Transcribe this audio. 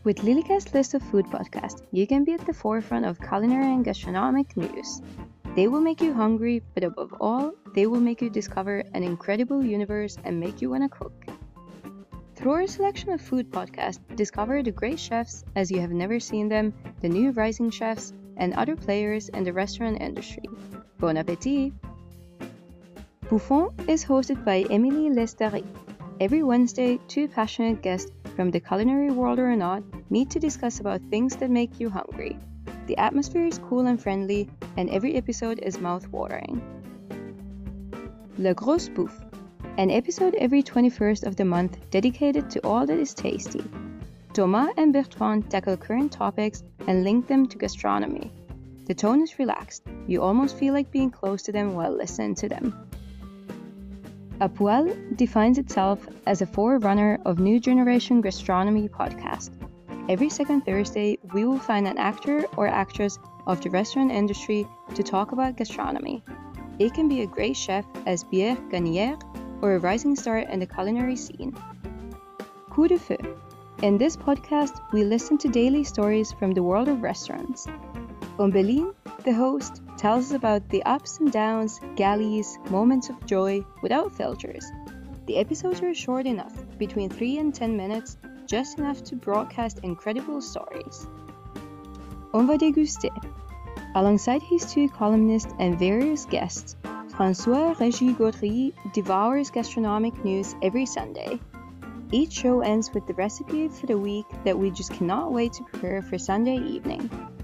With Lilycast's list of food podcasts, you can be at the forefront of culinary and gastronomic news. They will make you hungry, but above all, they will make you discover an incredible universe and make you want to cook. Through our selection of food podcasts, discover the great chefs as you have never seen them, the new rising chefs, and other players in the restaurant industry. Bon appétit! Bouffon is hosted by Émilie Lestari. Every Wednesday, two passionate guests from the culinary world or not meet to discuss about things that make you hungry. The atmosphere is cool and friendly, and every episode is mouth-watering. Le Gros Bouffe, an episode every 21st of the month dedicated to all that is tasty. Thomas and Bertrand tackle current topics and link them to gastronomy. The tone is relaxed. You almost feel like being close to them while listening to them. A Poêle defines itself as a forerunner of new generation gastronomy podcast. Every second Thursday, we will find an actor or actress of the restaurant industry to talk about gastronomy. It can be a great chef as Pierre Gagnière or a rising star in the culinary scene. Coup de feu. In this podcast, we listen to daily stories from the world of restaurants. Ombelline, the host, tells us about the ups and downs, galleys, moments of joy, without filters. The episodes are short enough, between 3 and 10 minutes, just enough to broadcast incredible stories. On va déguster. Alongside his two columnists and various guests, François-Régis Gaudry devours gastronomic news every Sunday. Each show ends with the recipe for the week that we just cannot wait to prepare for Sunday evening.